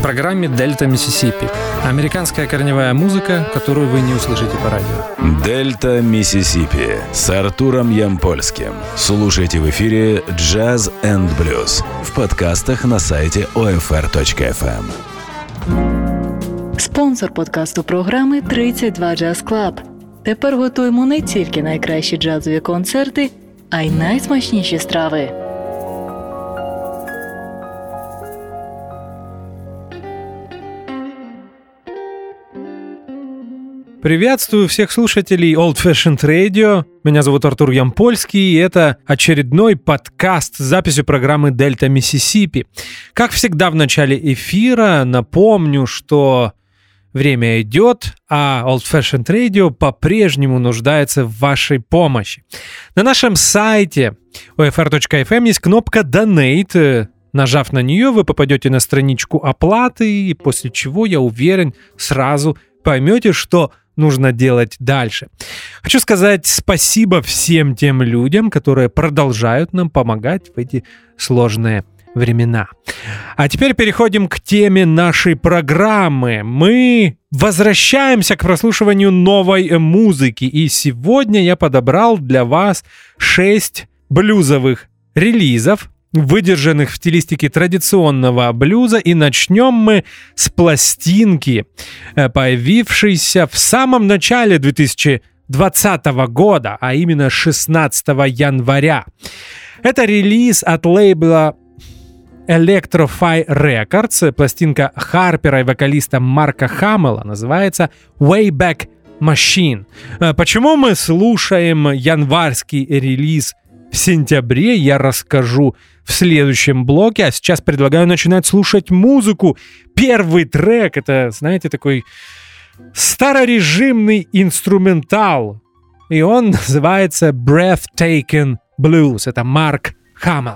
программе «Дельта Миссисипи». Американская корневая музыка, которую вы не услышите по радио. «Дельта Миссисипи» с Артуром Ямпольским. Слушайте в эфире «Джаз энд блюз» в подкастах на сайте OFR.FM. Спонсор подкасту програми «32 Jazz Club». Тепер готуємо не тільки найкращі джазові концерти, а й найсмачніші страви. Приветствую всех слушателей Old Fashioned Radio. Меня зовут Артур Ямпольский, и это очередной подкаст с записью программы «Дельта Миссисипи». Как всегда в начале эфира напомню, что время идет, а Old Fashioned Radio по-прежнему нуждается в вашей помощи. На нашем сайте OFR.FM есть кнопка «Donate». Нажав на нее, вы попадете на страничку оплаты, и после чего, я уверен, сразу поймете, что нужно делать дальше. Хочу сказать спасибо всем тем людям, которые продолжают нам помогать в эти сложные времена. А теперь переходим к теме нашей программы. Мы возвращаемся к прослушиванию новой музыки, и сегодня я подобрал для вас 6 блюзовых релизов, выдержанных в стилистике традиционного блюза, и начнем мы с пластинки, появившейся в самом начале 2020 года, а именно 16 января. Это релиз от лейбла Electro-Fi Records, пластинка Харпера и вокалиста Марка Хаммела, называется Wayback Machine. Почему мы слушаем январский релиз в сентябре, я расскажу в следующем блоке, а сейчас предлагаю начинать слушать музыку. Первый трек — это, знаете, такой старорежимный инструментал, и он называется Breathtaking Blues. Это Марк Хаммел.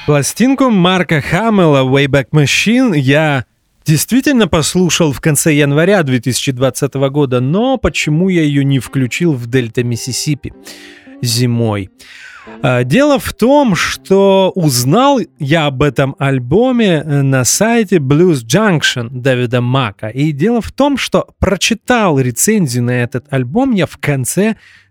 Пластинку Марка Хаммелла «Wayback Machine» я действительно послушал в конце января 2020 года, но почему я ее не включил в Дельта Миссисипи зимой? Дело в том, что узнал я об этом альбоме на сайте Blues Junction Дэвида Мака. И дело в том, что прочитал рецензию на этот альбом я в конце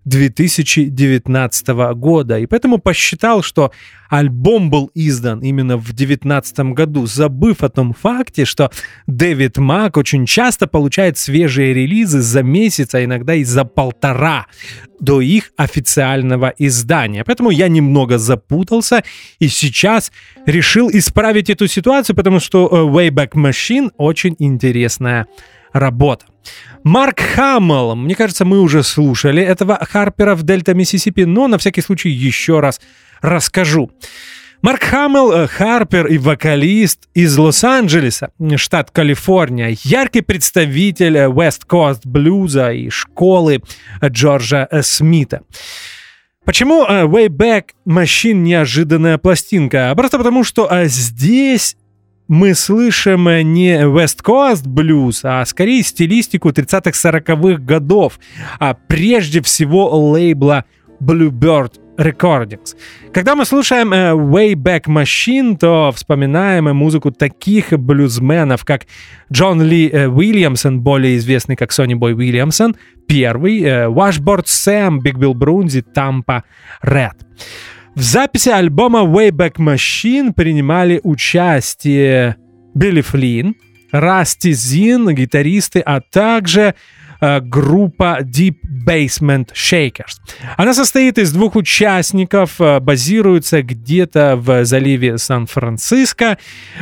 2019 года. И поэтому посчитал, что альбом был издан именно в 2019 году, забыв о том факте, что Дэвид Мак очень часто получает свежие релизы за месяц, а иногда и за полтора до их официального издания. Поэтому я немного запутался и сейчас решил исправить эту ситуацию, потому что Wayback Machine очень интересная работа. Марк Хаммелл, мне кажется, мы уже слушали этого Харпера в Дельта Миссисипи, но на всякий случай еще раз расскажу. Марк Хаммелл, Харпер и вокалист из Лос-Анджелеса, штат Калифорния, яркий представитель West Coast блюза и школы Джорджа Смита. Почему Wayback Machine неожиданная пластинка? Просто потому, что здесь мы слышим не West Coast Blues, а скорее стилистику 30-40-х годов, а прежде всего лейбла Bluebird Recordings. Когда мы слушаем Wayback Machine, то вспоминаем музыку таких блюзменов, как Джон Ли Уильямсон, более известный как Сонни Бой Уильямсон, первый, Washboard Сэм, Биг Билл Брунзи, Тампа Ред. В записи альбома Wayback Machine принимали участие Билли Флинн, Расти Зин, гитаристы, а также группа Deep Basement Shakers. Она состоит из двух участников, базируется где-то в заливе Сан-Франциско,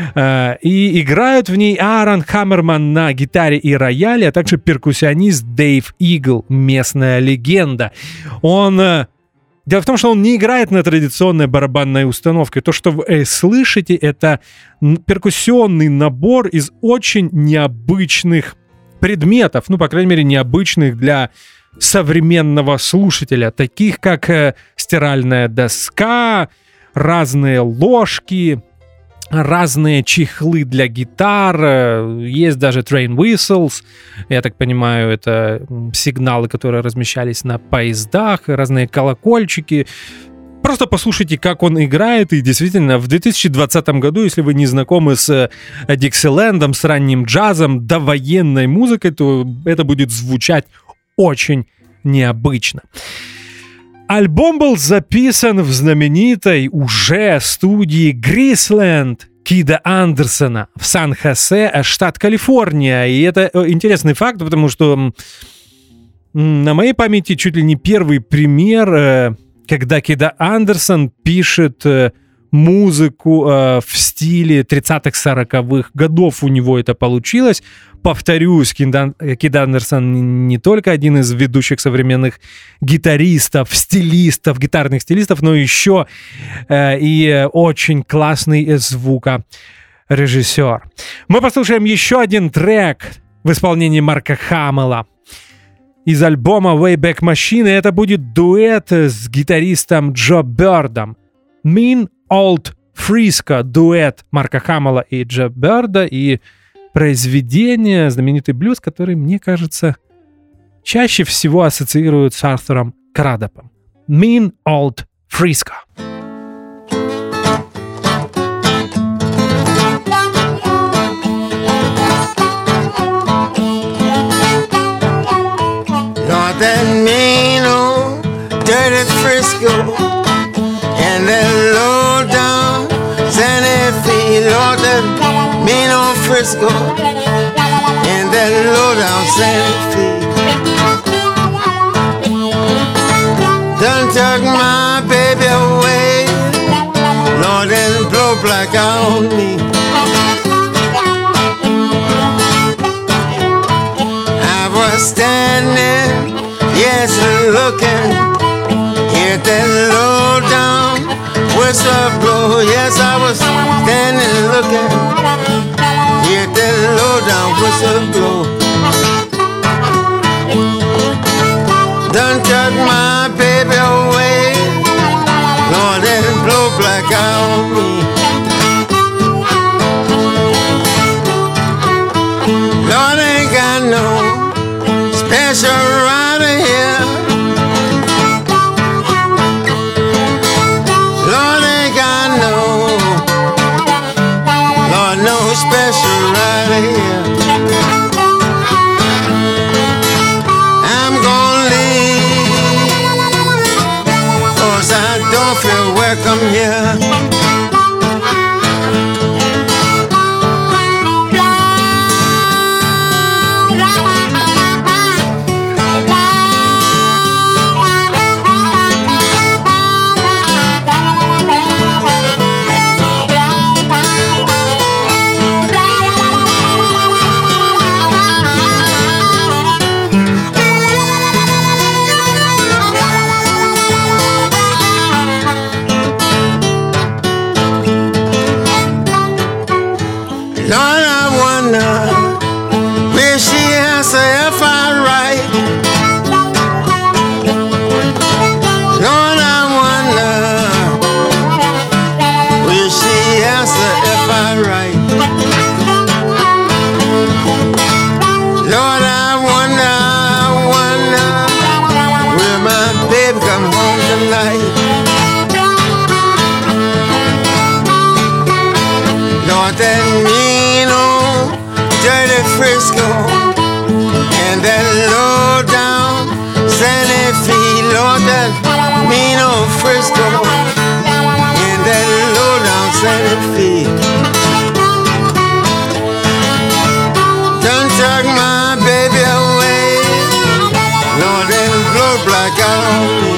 и играют в ней Аарон Хаммерман на гитаре и рояле, а также перкуссионист Дэйв Игл, местная легенда. Дело в том, что он не играет на традиционной барабанной установке. То, что вы слышите, это перкуссионный набор из очень необычных предметов, по крайней мере, необычных для современного слушателя, таких как стиральная доска, разные ложки, разные чехлы для гитар, есть даже train whistles, я так понимаю, это сигналы, которые размещались на поездах, разные колокольчики. Просто послушайте, как он играет, и действительно, в 2020 году, если вы не знакомы с Диксилендом, с ранним джазом, довоенной музыкой, то это будет звучать очень необычно. Альбом был записан в знаменитой уже студии Грисленд Кида Андерсона в Сан-Хосе, штат Калифорния. И это интересный факт, потому что на моей памяти чуть ли не первый пример, когда Кида Андерсон пишет музыку в стиле 30-х-40-х годов, у него это получилось. Повторюсь, Кид Андерсон не только один из ведущих современных гитаристов, стилистов, гитарных стилистов, но еще и очень классный звукорежиссер. Мы послушаем еще один трек в исполнении Марка Хаммелла из альбома Wayback Machine. Это будет дуэт с гитаристом Джо Бёрдом. Mean Old Frisco, дуэт Марка Хаммелла и Джо Бёрда, и произведение, знаменитый блюз, который, мне кажется, чаще всего ассоциируют с Артуром Крадопом. Mean Old Frisco. Lord, that mean old dirty Frisco and that low down Santa Fe. Lord, that mean old Frisco and that low down Santa Fe. Done took my baby away, Lord, and blow black on me. I was standing, yes, looking, hear that low down whistle blow. Yes, I was standing looking, hear that low down whistle blow. Done took my baby away, Lord, and blow black on me. don't feel welcome here. Lord, I wonder, will she answer if I write? Lord, I wonder, will she answer if I write? Lord, I wonder, will my baby come home tonight? Lord, that mean old dirty Frisco and that low down Santa Fe. Lord, that mean old Frisco and that low down Santa Fe. Done took my baby away. Lord, that blow black out on me.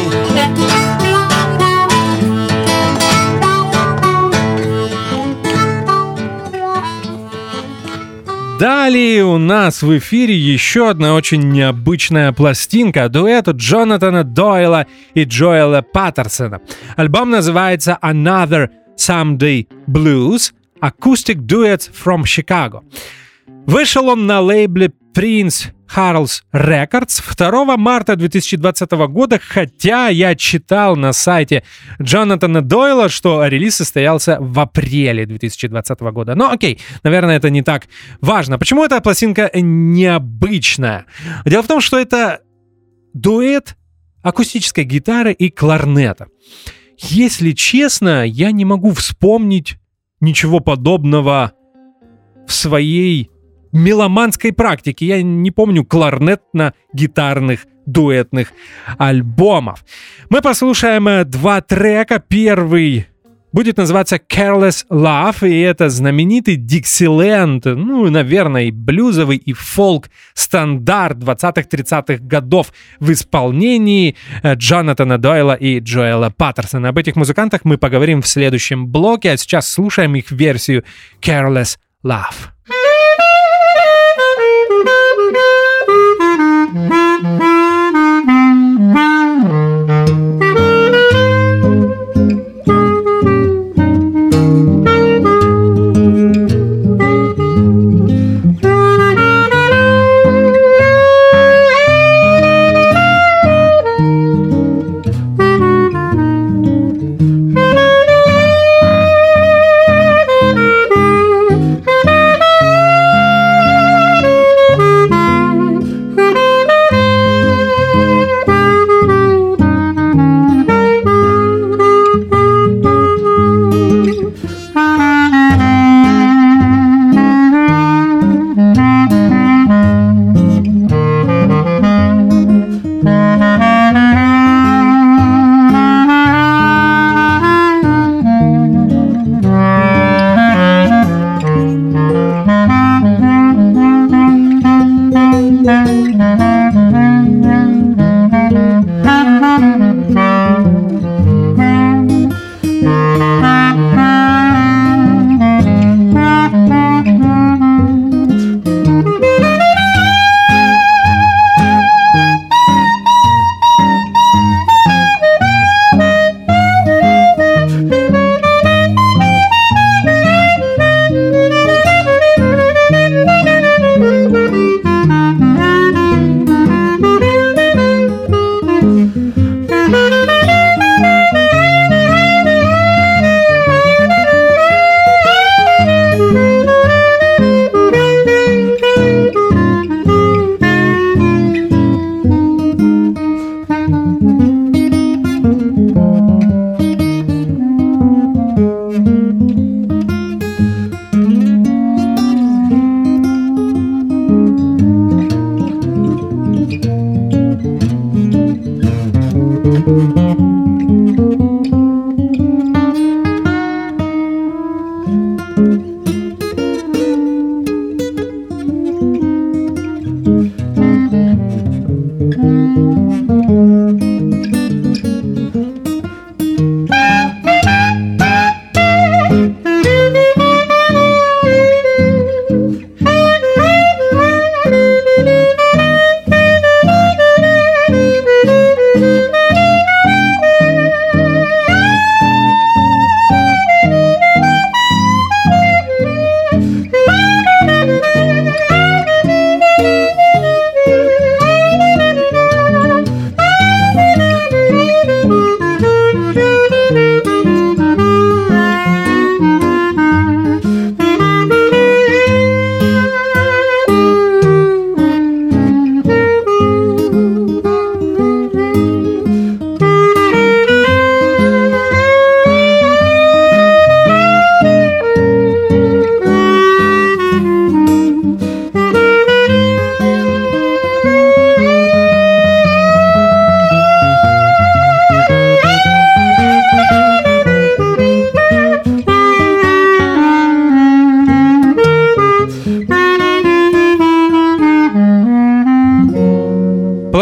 Далее у нас в эфире еще одна очень необычная пластинка, дуэт Джонатана Дойла и Джоэла Паттерсона. Альбом называется Another Someday Blues – Acoustic Duets from Chicago. Вышел он на лейбле Prince Harals Records 2 марта 2020 года, хотя я читал на сайте Джонатана Дойла, что релиз состоялся в апреле 2020 года. Но окей, наверное, это не так важно. Почему эта пластинка необычная? Дело в том, что это дуэт акустической гитары и кларнета. Если честно, я не могу вспомнить ничего подобного в своей меломанской практики. Я не помню кларнетно-гитарных дуэтных альбомов. Мы послушаем два трека. Первый будет называться Careless Love, и это знаменитый Dixieland, ну, наверное, и блюзовый, и фолк-стандарт 20-30-х годов в исполнении Джонатана Дойла и Джоэла Паттерсона. Об этих музыкантах мы поговорим в следующем блоке, а сейчас слушаем их версию Careless Love.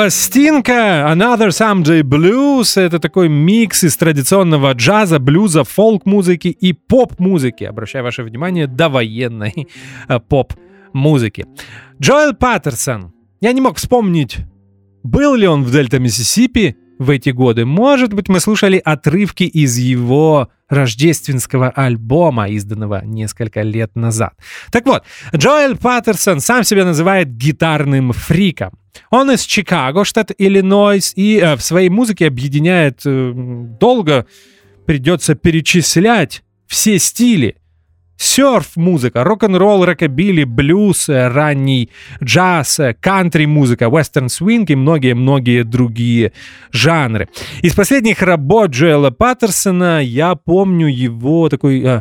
Пластинка Another Someday Blues — это такой микс из традиционного джаза, блюза, фолк-музыки и поп-музыки. Обращаю ваше внимание, довоенной поп-музыки. Джоэл Паттерсон. Я не мог вспомнить, был ли он в Дельта Миссисипи в эти годы. Может быть, мы слушали отрывки из его рождественского альбома, изданного несколько лет назад. Так вот, Джоэл Паттерсон сам себя называет гитарным фриком. Он из Чикаго, штат Иллинойс, и в своей музыке объединяет, долго придется перечислять все стили. Сёрф-музыка, рок-н-ролл, рокобили, блюз, ранний джаз, кантри-музыка, вестерн-свинг и многие-многие другие жанры. Из последних работ Джоэла Паттерсона я помню его такой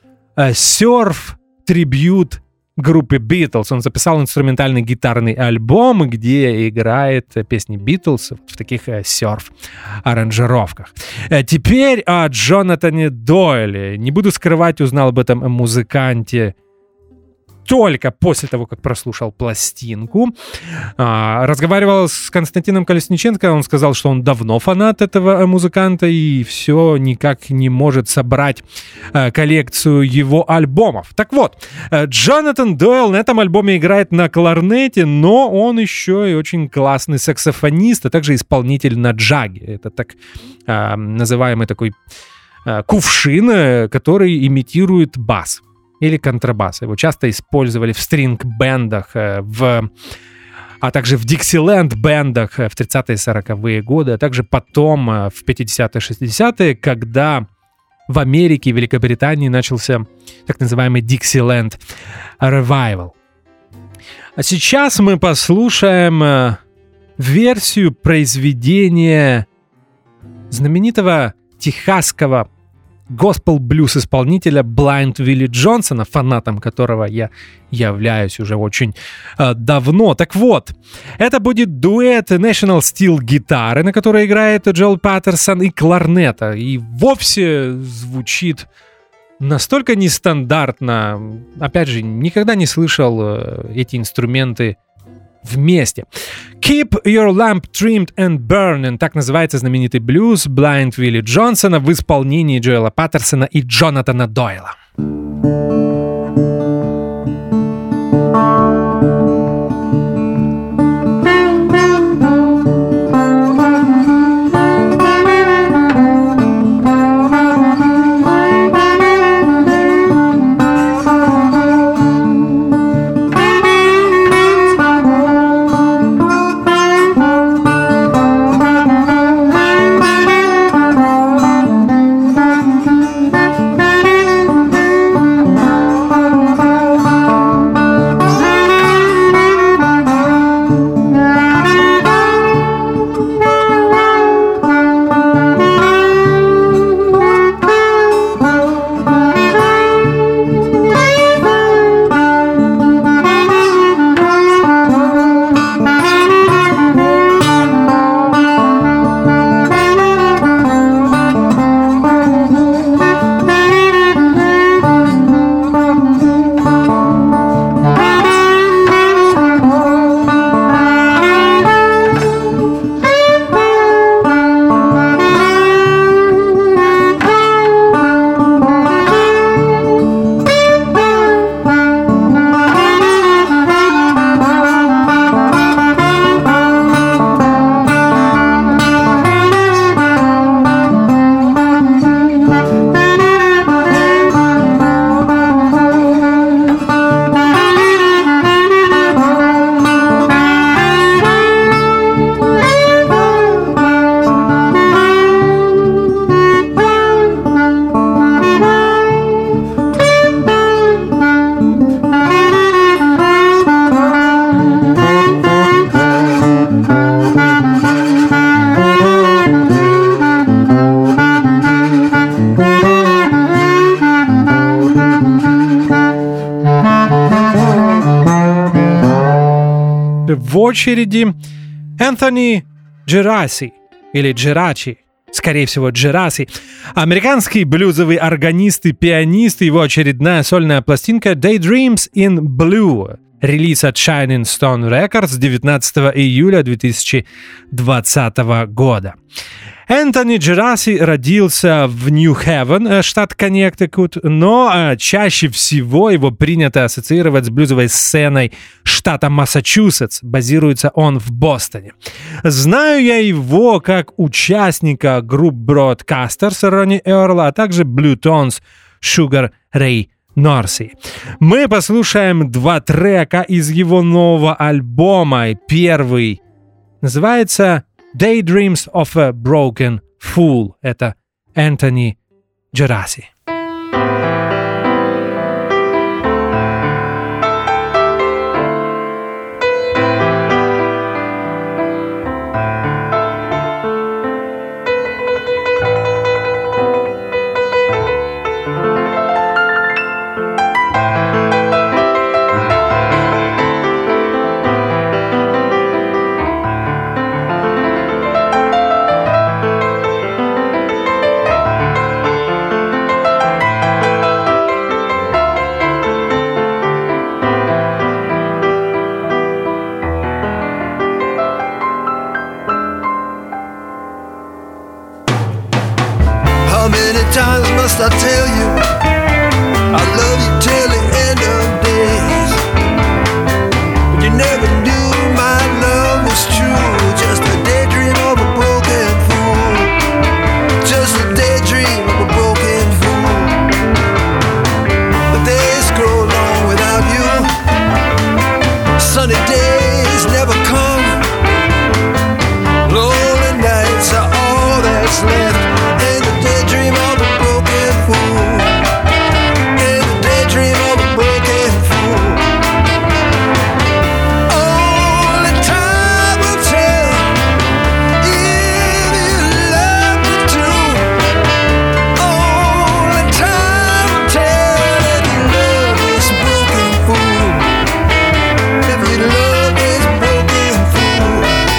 сёрф-трибьют группы Beatles. Он записал инструментальный гитарный альбом, где играет песни Beatles в таких сёрф-аранжировках. Теперь о Джонатане Дойле. Не буду скрывать, узнал об этом музыканте только после того, как прослушал пластинку. Разговаривал с Константином Колесниченко, он сказал, что он давно фанат этого музыканта и все никак не может собрать коллекцию его альбомов. Так вот, Джонатан Дойл на этом альбоме играет на кларнете, но он еще и очень классный саксофонист, а также исполнитель на джаге. Это так называемый такой кувшин, который имитирует бас или контрабас. Его часто использовали в стринг-бендах, а также в диксиленд-бендах в 30-е и 40-е годы, а также потом в 50-е и 60-е, когда в Америке и Великобритании начался так называемый Dixieland Revival. А сейчас мы послушаем версию произведения знаменитого техасского госпел-блюз-исполнителя Blind Willie Джонсона, фанатом которого я являюсь уже очень давно. Так вот, это будет дуэт National Steel гитары, на которой играет Джоэл Паттерсон, и кларнета. И вовсе звучит настолько нестандартно. Опять же, никогда не слышал эти инструменты вместе. Keep Your Lamp Trimmed and Burning. Так называется знаменитый блюз Blind Willie Джонсона в исполнении Джоэла Паттерсона и Джонатана Дойла. В очереди Энтони Джераси, или Джерачи, скорее всего, Джераси, американский блюзовый органист и пианист, его очередная сольная пластинка Daydreams in Blue. релиз от Shining Stone Records 19 июля 2020 года. Энтони Джераси родился в Нью-Хевен, штат Коннектикут, но чаще всего его принято ассоциировать с блюзовой сценой штата Массачусетс. Базируется он в Бостоне. Знаю я его как участника групп Broadcasters Ронни Эрла, а также Blue Tones Sugar Ray Норси. Мы послушаем 2 трека из его нового альбома. Первый называется Daydreams of a Broken Fool. Это Энтони Джераси. I tell you, I love you till the end of days. But you never knew my love was true. Just a daydream of a broken fool. Just a daydream of a broken fool. The days grow long without you. Sunny days never come. Lonely nights are all that's left. And the daydream of a broken fool. In the daydream of a broken fool. Only time will tell if you love me too. Only time will tell if you love this broken fool. If you love this broken fool.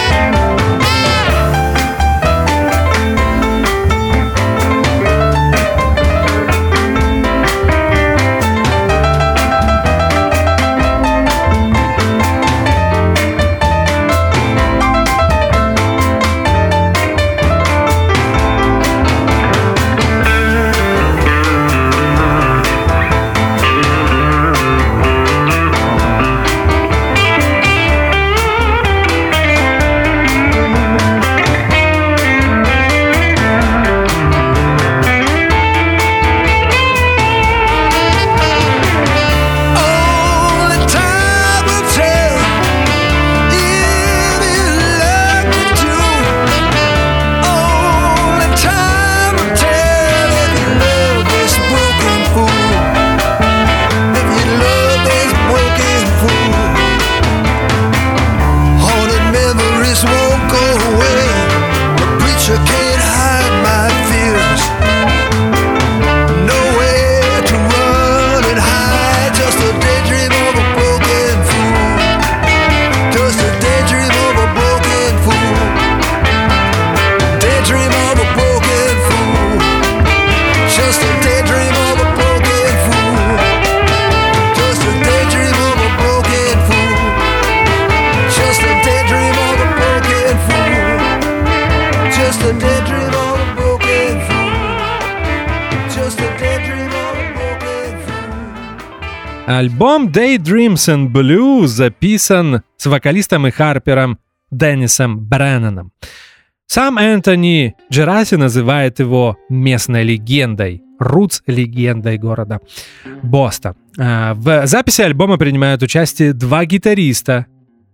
Альбом Daydreams and Blues записан с вокалистом и харпером Деннисом Бреннаном. Сам Энтони Джераси называет его местной легендой, рутс-легендой города Бостон. В записи альбома принимают участие 2 гитариста,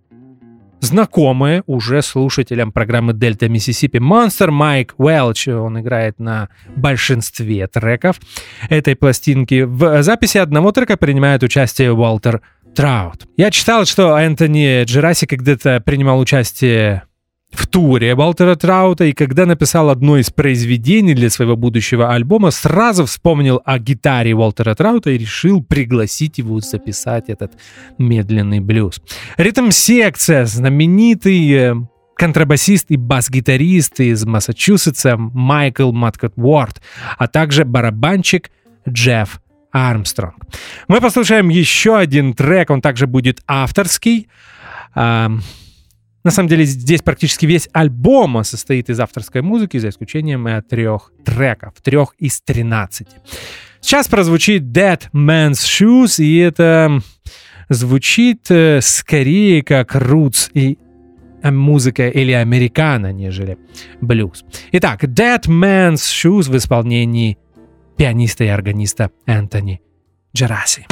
знакомые уже слушателям программы Delta Mississippi Monster. Майк Уэлч, он играет на большинстве треков этой пластинки. В записи одного трека принимает участие Уолтер Траут. Я читал, что Энтони Джераси когда-то принимал участие в туре Уолтера Траута, и когда написал одно из произведений для своего будущего альбома, сразу вспомнил о гитаре Уолтера Траута и решил пригласить его записать этот медленный блюз. Ритм-секция, знаменитый контрабасист и бас-гитарист из Массачусетса Майкл Маткот Уорд, а также барабанщик Джефф Армстронг. Мы послушаем еще один трек, он также будет авторский. На самом деле здесь практически весь альбом состоит из авторской музыки, за исключением 3 треков, 3 из 13. Сейчас прозвучит Dead Man's Shoes, и это звучит скорее как roots и музыка или американо, нежели блюз. Итак, Dead Man's Shoes в исполнении пианиста и органиста Энтони Джераси.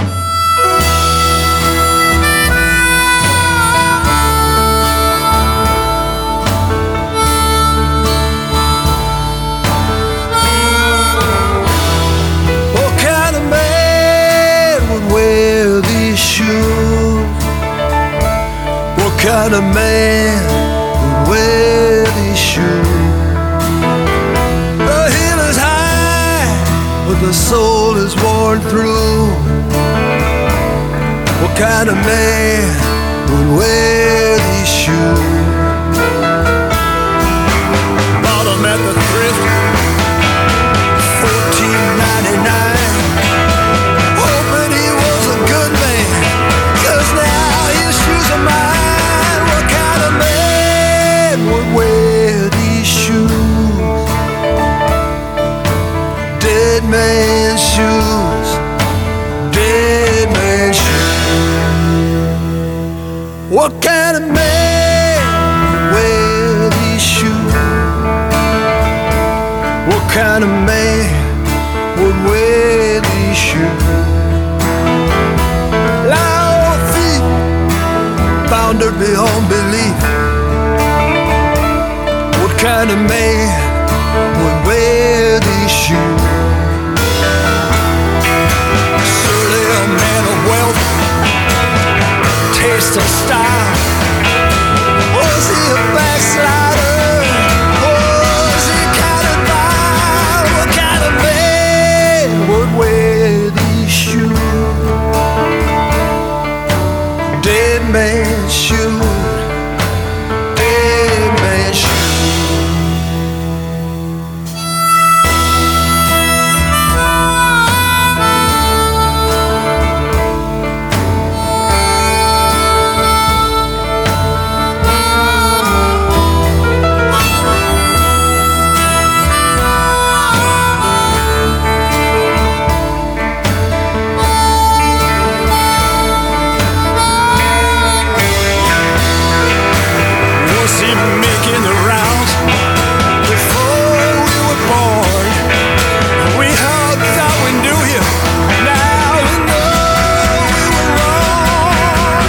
What kind of man would wear these shoes? The hill is high, but the soul is worn through. What kind of man would wear these shoes? Bought them at the thrift, $14.99. Hoping he was a good man, 'cause now his shoes are mine. What kind of man would wear these shoes? Dead man's shoes, dead man's shoes. What kind of man would wear these shoes? What kind of man would wear these shoes? Loud feet, bounded beyond belief. What kind of man would wear these shoes? Surely a man of wealth, taste of style. Was he a backslider? Was he kind of vile? What kind of man would wear these shoes? Dead man's shoes, dead man's shoes. Was he making the rounds before we were born? We all thought we knew him. Now we know we were wrong.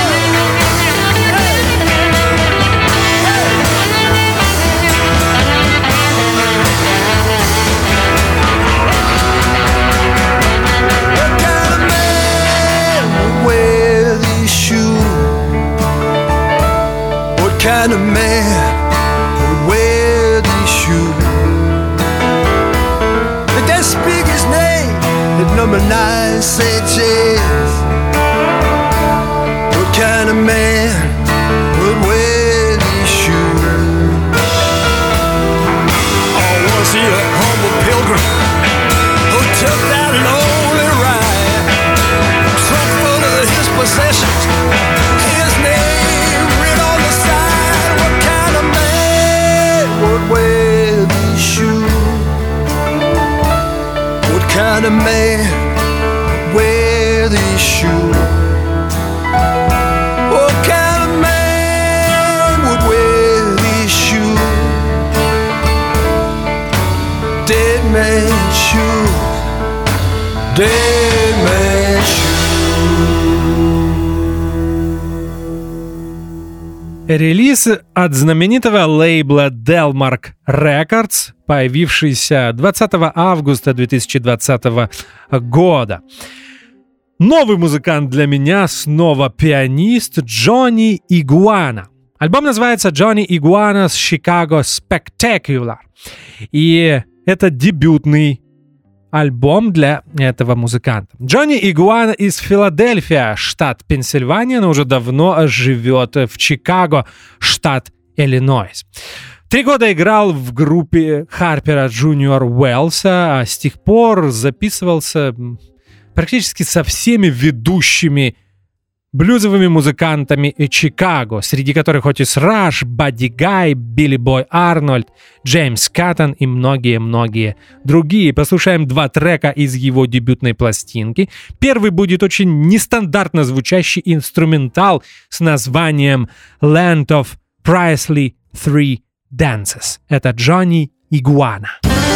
What kind of man would wear these shoes? What kind of man would wear these shoes? Did they speak his name at number 9 St. James? What kind of man would wear these shoes? Or was he a humble pilgrim who took that lonely ride? Trunk full of his possessions, his name written on the side. What kind of man would wear these shoes? What kind of man would wear these shoes? What kind of man would wear these shoes? Dead man's shoes, dead man's shoes. Релиз от знаменитого лейбла Delmark Records, появившийся 20 августа 2020 года. Новый музыкант для меня, снова пианист Джонни Игуана. Альбом называется Johnny Iguana's Chicago Spectacular. И это дебютный альбом для этого музыканта. Джонни Игуана из Филадельфия, штат Пенсильвания, но уже давно живет в Чикаго, штат Иллинойс. 3 года играл в группе Харпера Джуниор Уэллса, а с тех пор записывался практически со всеми ведущими блюзовыми музыкантами Чикаго, среди которых Отис Раш, Бадди Гай, Билли Бой Арнольд, Джеймс Каттон и многие-многие другие. Послушаем 2 трека из его дебютной пластинки. Первый будет очень нестандартно звучащий инструментал с названием Land of Priceless Three Dances. Это Джонни Игуана.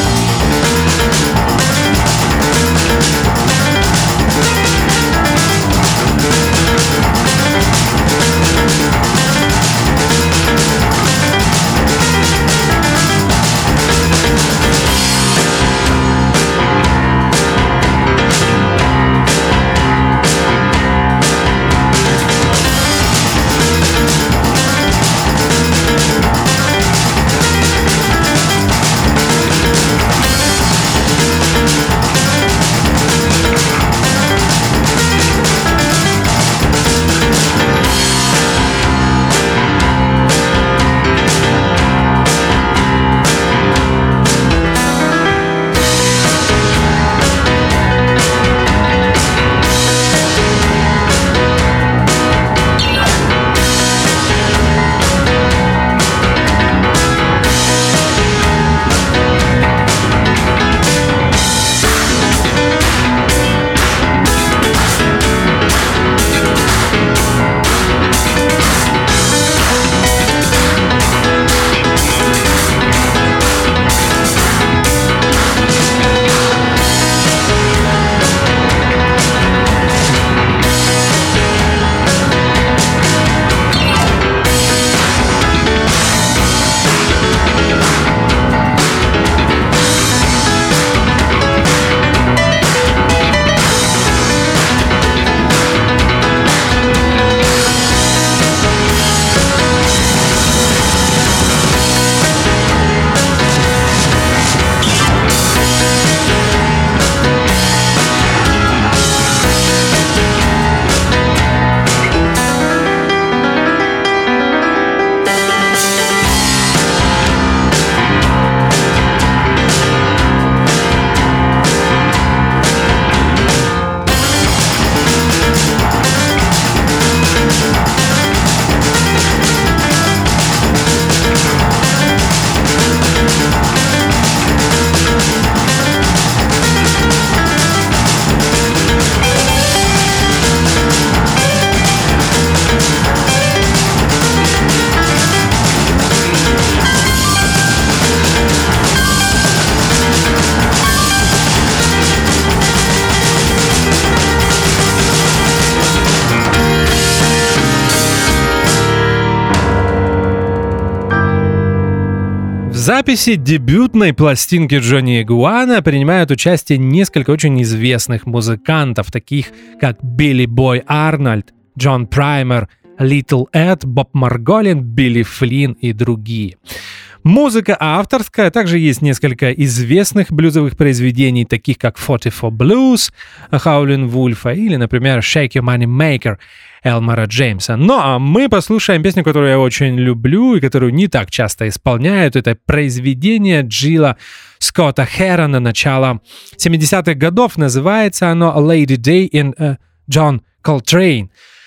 В записи дебютной пластинки Джонни Игуана принимают участие несколько очень известных музыкантов, таких как Билли Бой Арнольд, Джон Праймер, Литл Эд, Боб Марголин, Билли Флинн и другие. Музыка авторская, также есть несколько известных блюзовых произведений, таких как 44 Blues Howlin' Wolf или, например, Shake Your Money Maker Элмора Джеймса. Ну а мы послушаем песню, которую я очень люблю и которую не так часто исполняют. Это произведение Джилла Скотта Херона начала 70-х годов. Называется оно Lady Day in John Coltrane.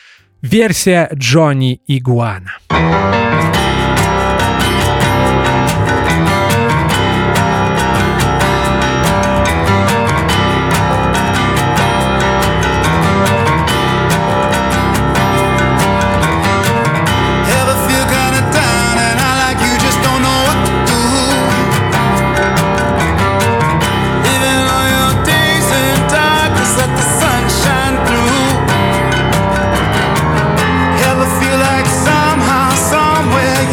Версия Джонни Игуана. Ever feel like somehow, somewhere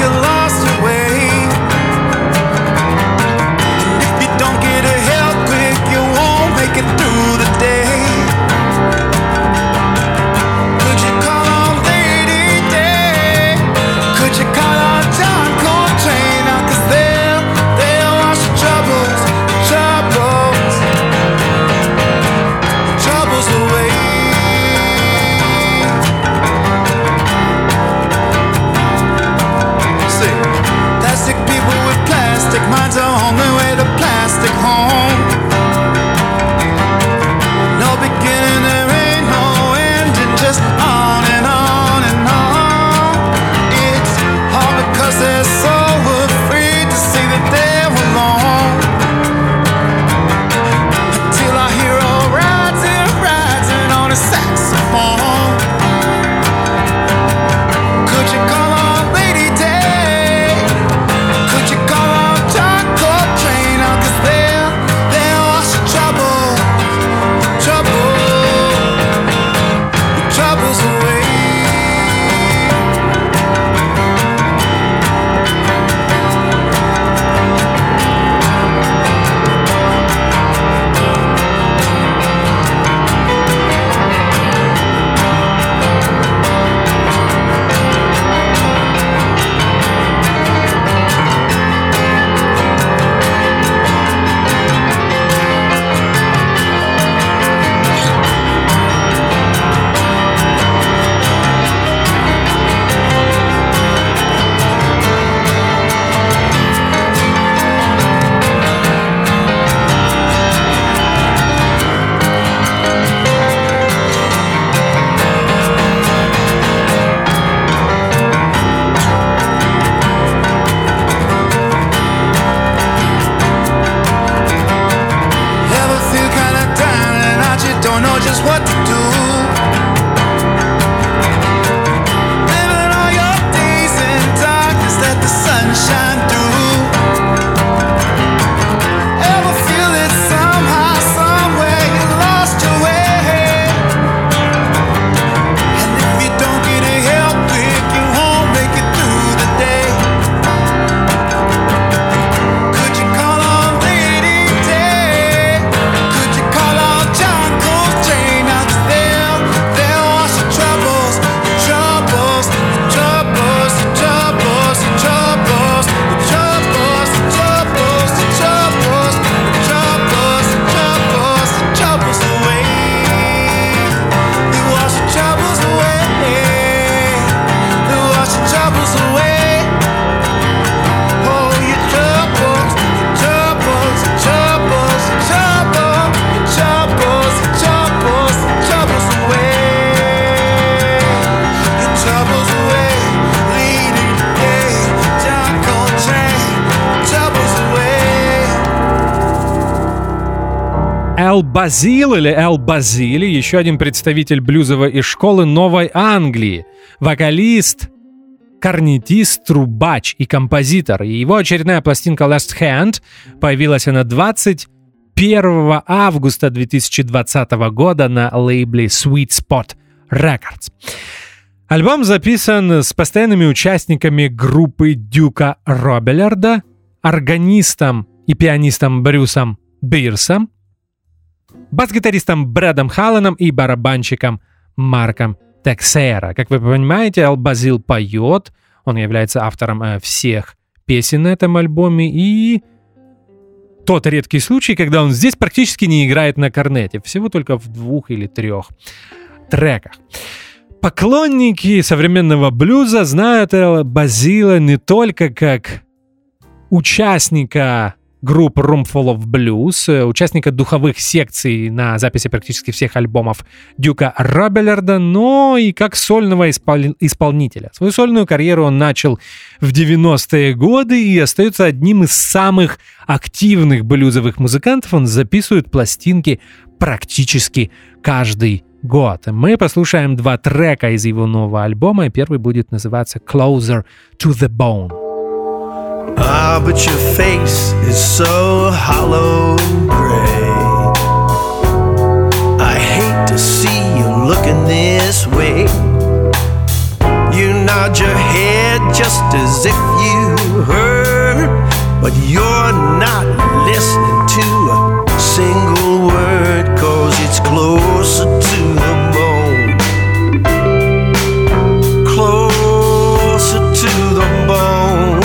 Эл Базил или Эл Базили, еще один представитель блюзовой школы Новой Англии, вокалист, корнетист, трубач и композитор. И его очередная пластинка Last Hand появилась она 21 августа 2020 года на лейбле Sweet Spot Records. Альбом записан с постоянными участниками группы Дюка Робелларда, органистом и пианистом Брюсом Бирсом, бас-гитаристом Брэдом Халланом и барабанщиком Марком Тексейра. Как вы понимаете, Эл Базил поет, он является автором всех песен на этом альбоме, и тот редкий случай, когда он здесь практически не играет на корнете, всего только в 2 или 3 треках. Поклонники современного блюза знают Эла Базила не только как участника групп Roomful of Blues, участника духовых секций на записи практически всех альбомов Дюка Робелларда, но и как сольного исполнителя. Свою сольную карьеру он начал в 90-е годы и остается одним из самых активных блюзовых музыкантов. Он записывает пластинки практически каждый год. Мы послушаем 2 трека из его нового альбома, и первый будет называться Closer to the Bone. Ah, but your face is so hollow and gray. I hate to see you looking this way. You nod your head just as if you heard, but you're not listening to a single word, 'cause it's closer to the bone. Closer to the bone.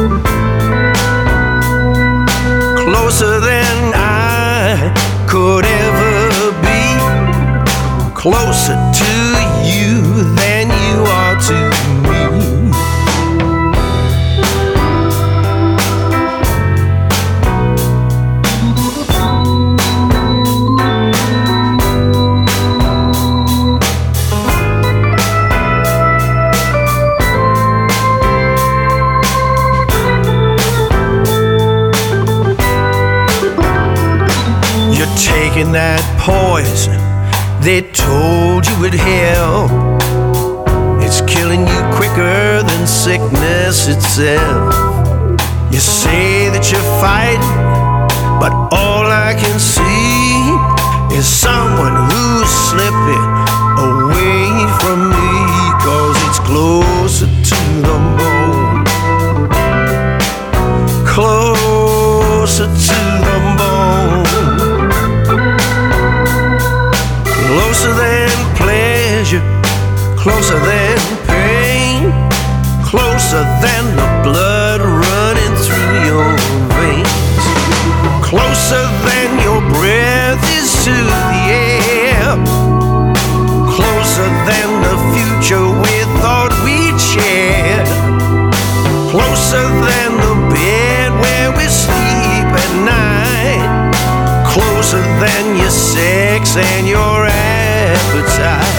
Closer than I could ever be. Closer to you than you are to me. Taking that poison they told you would help. It's killing you quicker than sickness itself. You say that you're fighting, but all I can see is someone who's slipping away from me, 'cause it's closer to the bone. Closer to the bone. Closer than pleasure, closer than pain, closer than the blood running through your veins, closer than your breath is to the air, closer than the future we thought we'd share, closer than the bed where we sleep at night, closer than your sex and your appetite.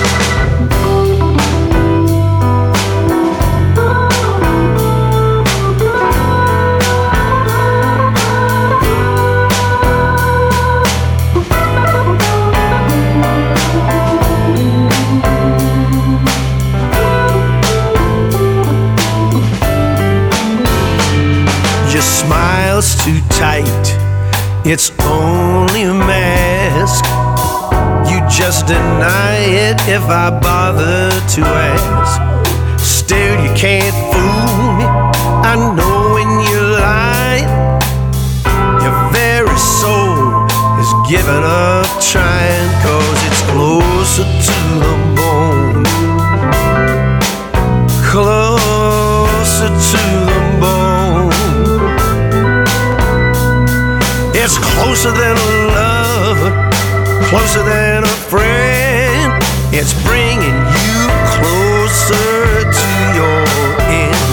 Your smile's too tight, it's only a mask. You just deny it if I bother to ask. Still you can't fool me, I know when you lie. Your very soul is giving up trying, 'cause it's closer to the bone. Closer to the bone. It's closer than a lover, closer than a friend. It's bringing you closer to your end.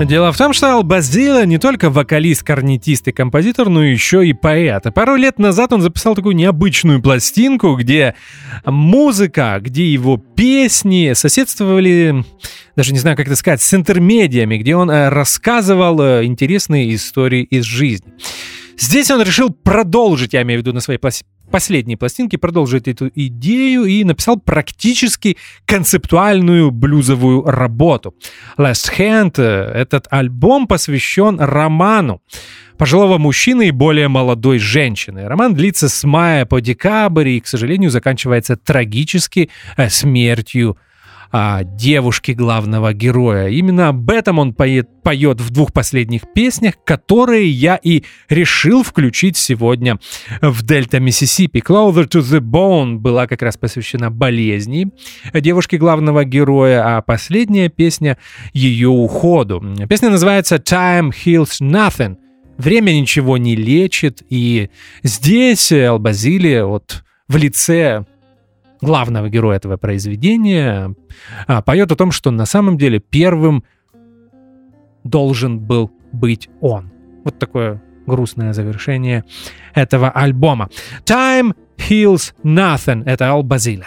Дело в том, что Ал Базиле не только вокалист, корнетист и композитор, но еще и поэт. Пару лет назад он записал такую необычную пластинку, где музыка, где его песни соседствовали, даже не знаю, как это сказать, с интермедиями, где он рассказывал интересные истории из жизни. Здесь он решил продолжить, я имею в виду на своей последней пластинке, продолжить эту идею и написал практически концептуальную блюзовую работу. Last Hand, этот альбом посвящен роману пожилого мужчины и более молодой женщины. Роман длится с мая по декабрь и, к сожалению, заканчивается трагически смертью девушки главного героя. Именно об этом он поет в двух последних песнях, которые я и решил включить сегодня в Дельта Миссисипи. Closer to the Bone была как раз посвящена болезни девушки главного героя, а последняя песня ее уходу. Песня называется Time Heals Nothing. Время ничего не лечит, и здесь Ал Базиле в лице главного героя этого произведения поет о том, что на самом деле первым должен был быть он. Вот такое грустное завершение этого альбома. Time Heals Nothing. Это Ал Базиле.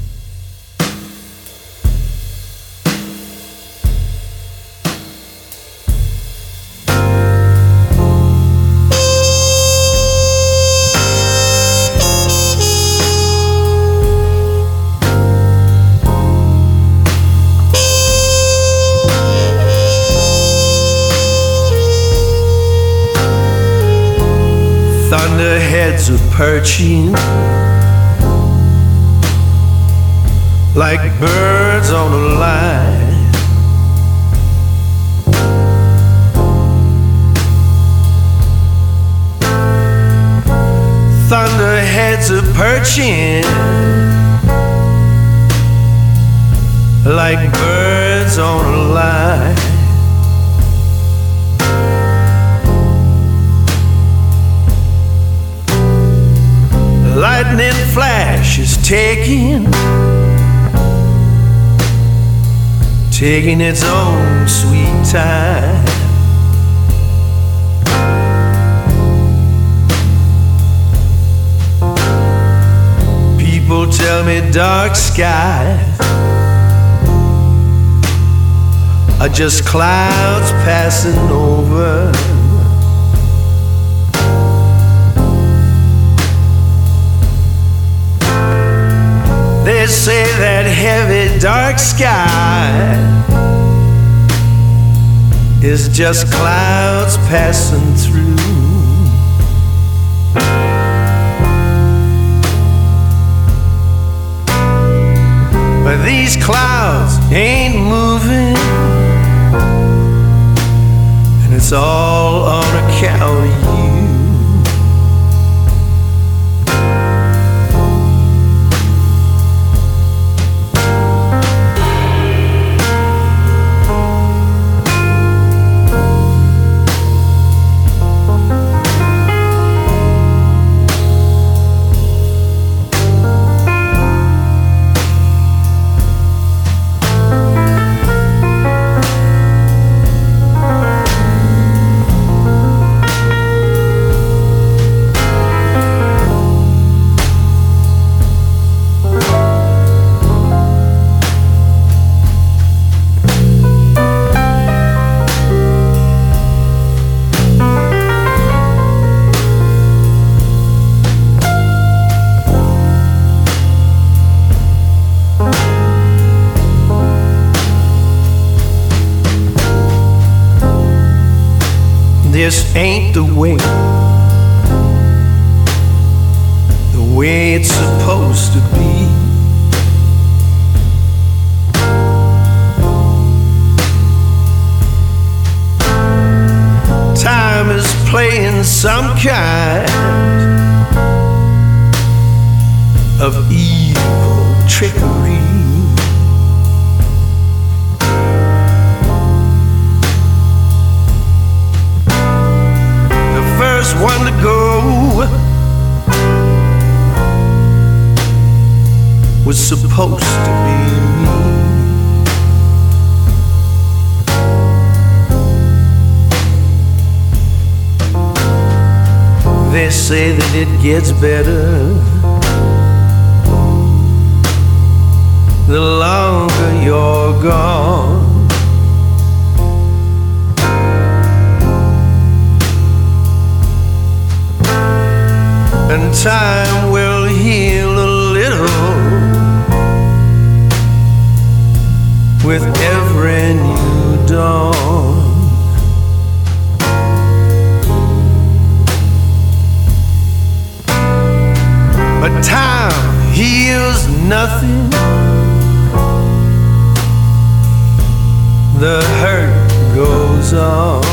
Thunderheads are perching like birds on a line. Thunderheads are perching like birds on a line. Lightning flash is taking its own sweet time. People tell me dark skies are just clouds passing over. They say that heavy dark sky is just clouds passing through. But these clouds ain't moving, and it's all on account of you. This ain't the way it's supposed to be. Time is playing some kind of evil trickery. First one to go was supposed to be me. say that it gets better the longer you're gone. And time will heal a little with every new dawn. But time heals nothing. The hurt goes on.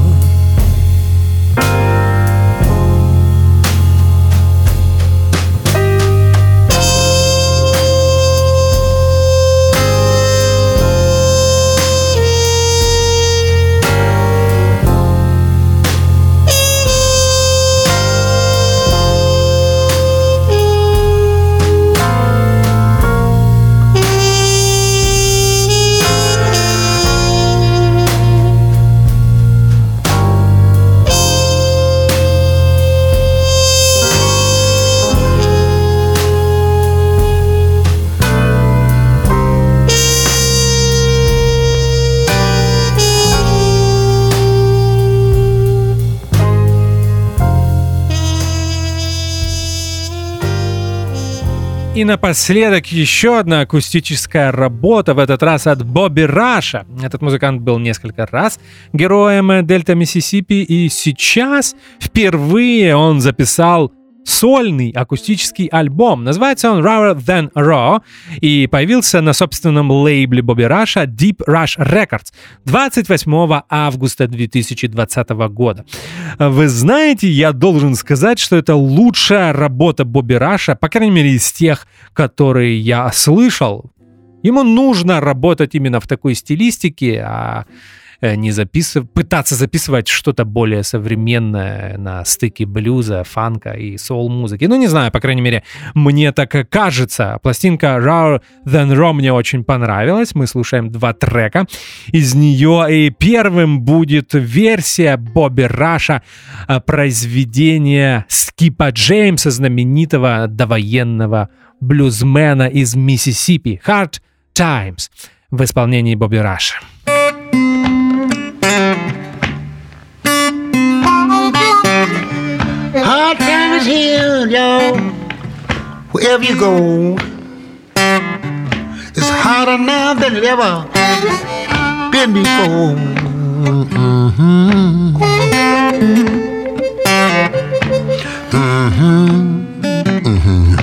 И напоследок еще одна акустическая работа, в этот раз от Бобби Раша. Этот музыкант был несколько раз героем Дельта Миссисипи, и сейчас впервые он записал сольный акустический альбом. Называется он Rawer Than Raw и появился на собственном лейбле Бобби Раша Deep Rush Records 28 августа 2020 года. Вы знаете, я должен сказать, что это лучшая работа Бобби Раша, по крайней мере, из тех, которые я слышал. Ему нужно работать именно в такой стилистике, а не пытаться записывать что-то более современное на стыке блюза, фанка и соул-музыки. Ну, не знаю, по крайней мере, мне так кажется. Пластинка Rawer Than Raw мне очень понравилась. Мы слушаем 2 трека из нее. И первым будет версия Бобби Раша произведения Скипа Джеймса, знаменитого довоенного блюзмена из Миссисипи. Hard Times в исполнении Бобби Раша. Hard times here, y'all. Wherever you go, it's harder now than it ever been before. Mm-hmm. Mm-hmm. Mm-hmm.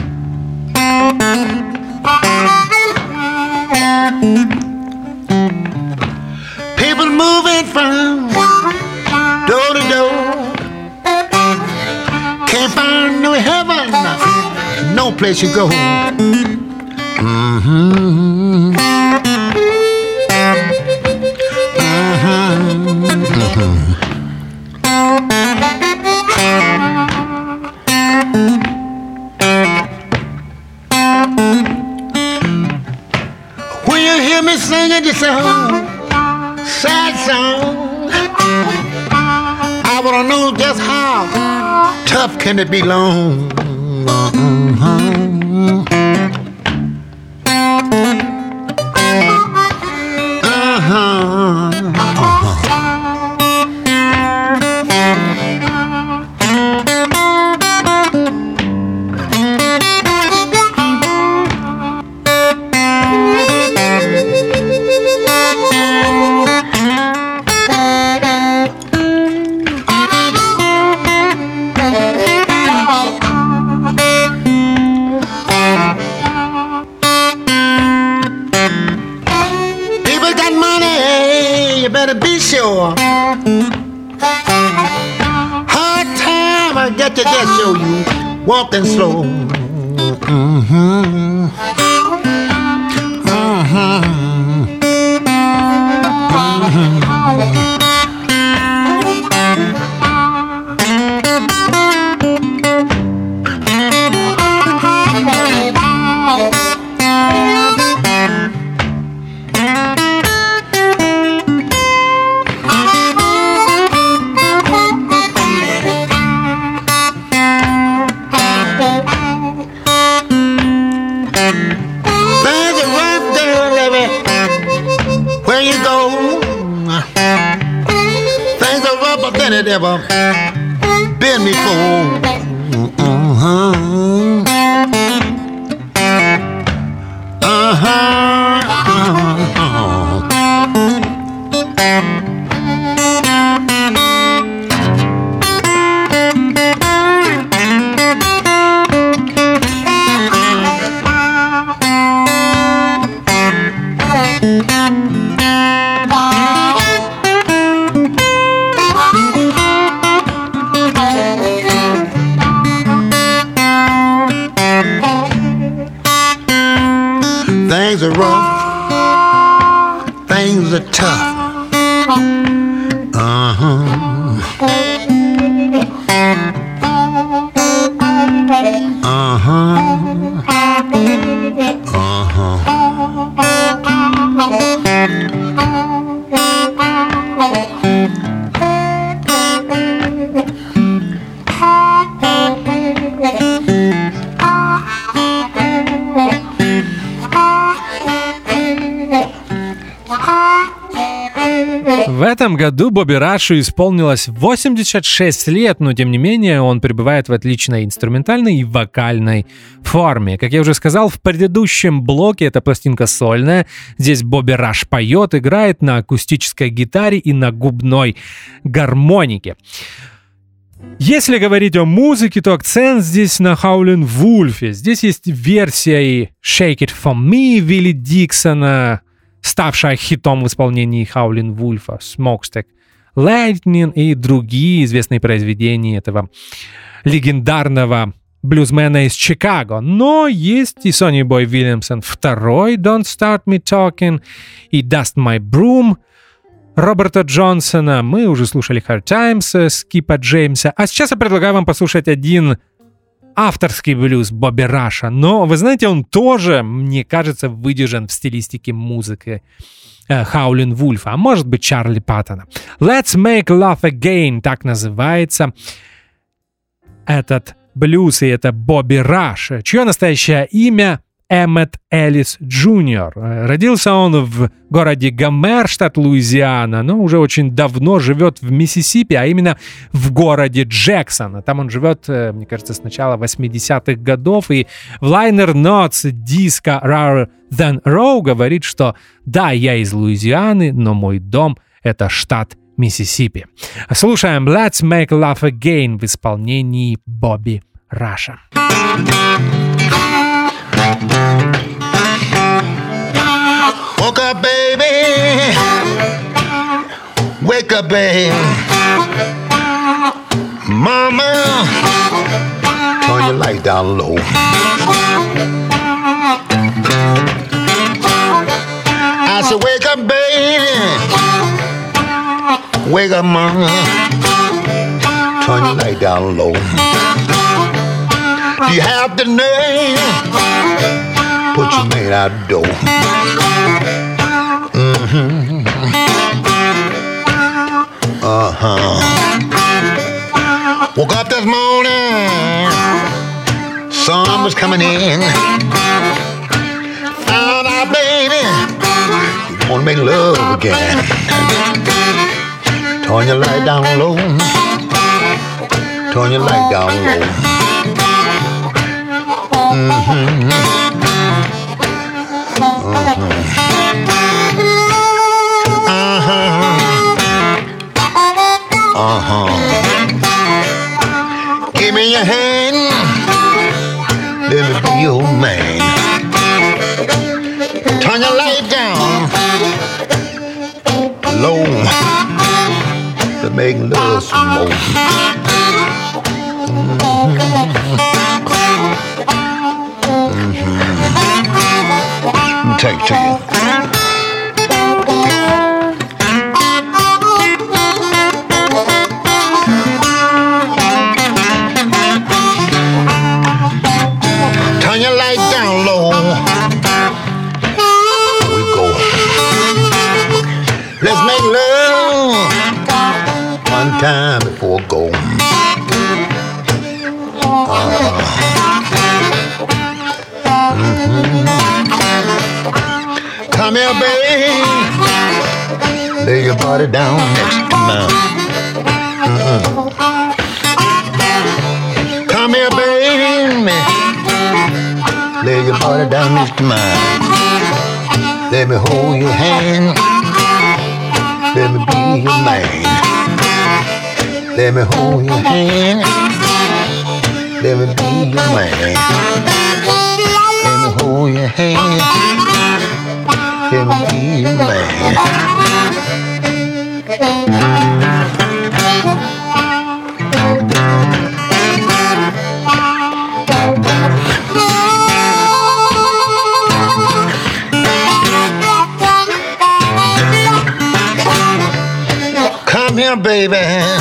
People moving from door to door. Can't find no heaven, no place you go. Mm-hmm. Mm-hmm. Mm-hmm. When you hear me singing this song, sad song, I wanna know just how tough can it be long? Hard time, I got to just show you walking slow. Mm-hmm. Mm-hmm. man that ever been before. Things are rough, things are tough. В этом году Бобби Рашу исполнилось 86 лет, но тем не менее он пребывает в отличной инструментальной и вокальной форме. Как я уже сказал, в предыдущем блоке эта пластинка сольная. Здесь Бобби Раш поет, играет на акустической гитаре и на губной гармонике. Если говорить о музыке, то акцент здесь на Howlin' Wolf. Здесь есть версия и Shake It For Me Вилли Диксона, ставшая хитом в исполнении Howlin' Wolf, Smokestack Lightning и другие известные произведения этого легендарного блюзмена из Чикаго. Но есть и Сонни Бой Вильямсон II, Don't Start Me Talking, и Dust My Broom Роберта Джонсона. Мы уже слушали Hard Times Скипа Джеймса. А сейчас я предлагаю вам послушать один авторский блюз Бобби Раша. Но, вы знаете, он тоже, мне кажется, выдержан в стилистике музыки Howlin' Wolf, а может быть Чарли Паттона. Let's Make Love Again, так называется этот блюз, и это Бобби Раш, чье настоящее имя Эммет Эллис Джуниор. Родился он в городе Гомер, штат Луизиана, но уже очень давно живет в Миссисипи, а именно в городе Джексон. Там он живет, мне кажется, с начала 80-х годов, и в Liner Notes диска Rarer Than Raw говорит, что да, я из Луизианы, но мой дом — это штат Миссисипи. Слушаем Let's Make Love Again в исполнении Бобби Раша. Woke up, baby. Wake up, baby. Mama, turn your light down low. I said, wake up, baby. Wake up, mama. Turn your light down low. Do you have the nerve? Put your man out the door. Woke up this morning, sun was coming in. Found out, baby, you wanna make love again. Turn your light down low. Turn your light down low. Give me your hand, let me be your man. Turn your light down low, to make love some more. Let me take it to you. Turn your light down low. Here we go. Let's make love one time before go. Come here, baby. Lay your body down next to mine. Come here, baby. Lay your body down next to mine. Let me hold your hand. Let me be your man. Let me hold your hand. Let me be your man. Let me hold your hand. Let me be your man. Come here, baby.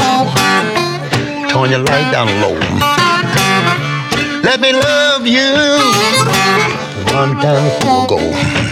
Turn your light down low. Let me love you. One time before I go.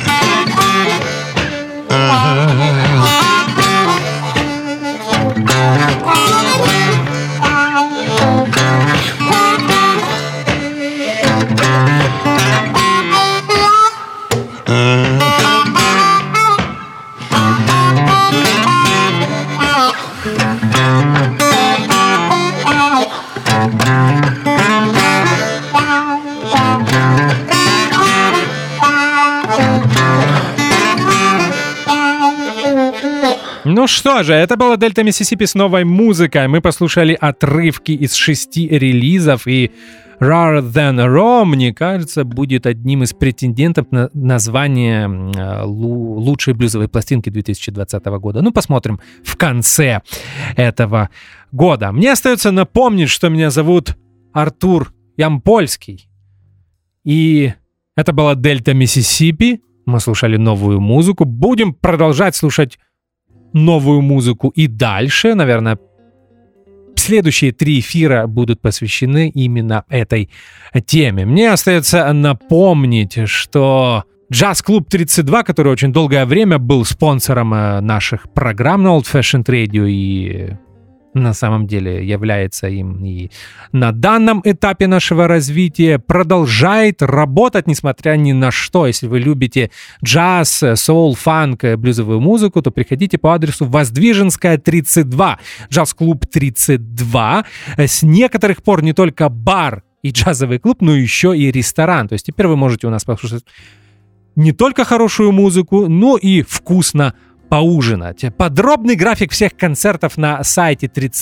Ну что же, это была Дельта Миссисипи с новой музыкой. Мы послушали отрывки из 6 релизов, и Rarer Than Raw, мне кажется, будет одним из претендентов на название лучшей блюзовой пластинки 2020 года. Ну, посмотрим в конце этого года. Мне остается напомнить, что меня зовут Артур Ямпольский. И это была Дельта Миссисипи. Мы слушали новую музыку. Будем продолжать слушать новую музыку и дальше. Наверное, следующие 3 эфира будут посвящены именно этой теме. Мне остается напомнить, что Джаз-клуб 32, который очень долгое время был спонсором наших программ на Old Fashioned Radio и на самом деле является им и на данном этапе нашего развития, продолжает работать, несмотря ни на что. Если вы любите джаз, соул, фанк, блюзовую музыку, то приходите по адресу Воздвиженская, 32, Джаз-клуб 32. С некоторых пор не только бар и джазовый клуб, но еще и ресторан. То есть теперь вы можете у нас послушать не только хорошую музыку, но и вкусно поужинать. Подробный график всех концертов на сайте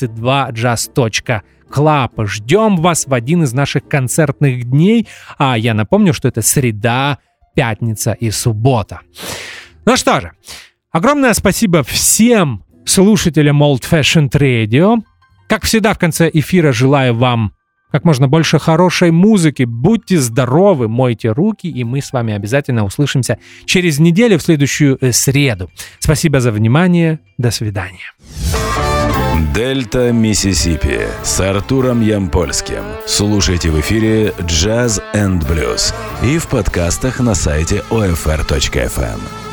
32jazz.club. Ждем вас в один из наших концертных дней. А я напомню, что это среда, пятница и суббота. Ну что же, огромное спасибо всем слушателям Old Fashioned Radio. Как всегда, в конце эфира желаю вам как можно больше хорошей музыки. Будьте здоровы, мойте руки, и мы с вами обязательно услышимся через неделю в следующую среду. Спасибо за внимание. До свидания. Дельта Миссисипи с Артуром Ямпольским. Слушайте в эфире Jazz and Blues и в подкастах на сайте OFR.FM.